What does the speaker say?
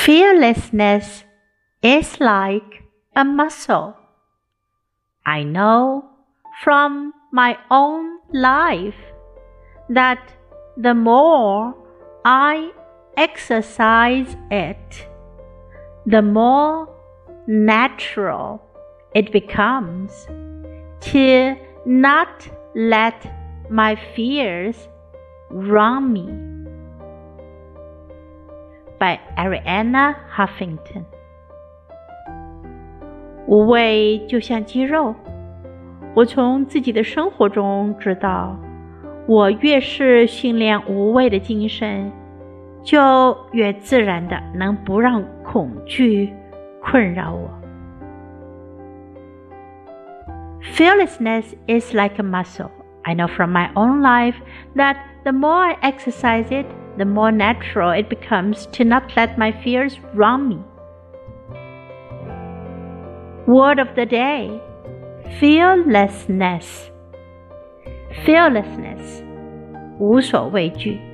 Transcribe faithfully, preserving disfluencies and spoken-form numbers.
Fearlessness is like a muscle. I know from my own life that the more I exercise it, the more natural it becomes to not let my fears run me. By Arianna Huffington。 无畏就像肌肉，我从自己的生活中知道，我越是训练无畏的精神，就越自然的能不让恐惧困扰我。Fearlessness is like a muscle. I know from my own life that the more I exercise it, the more natural it becomes to not let my fears run me. Word of the day: fearlessness. Fearlessness, 无所畏惧。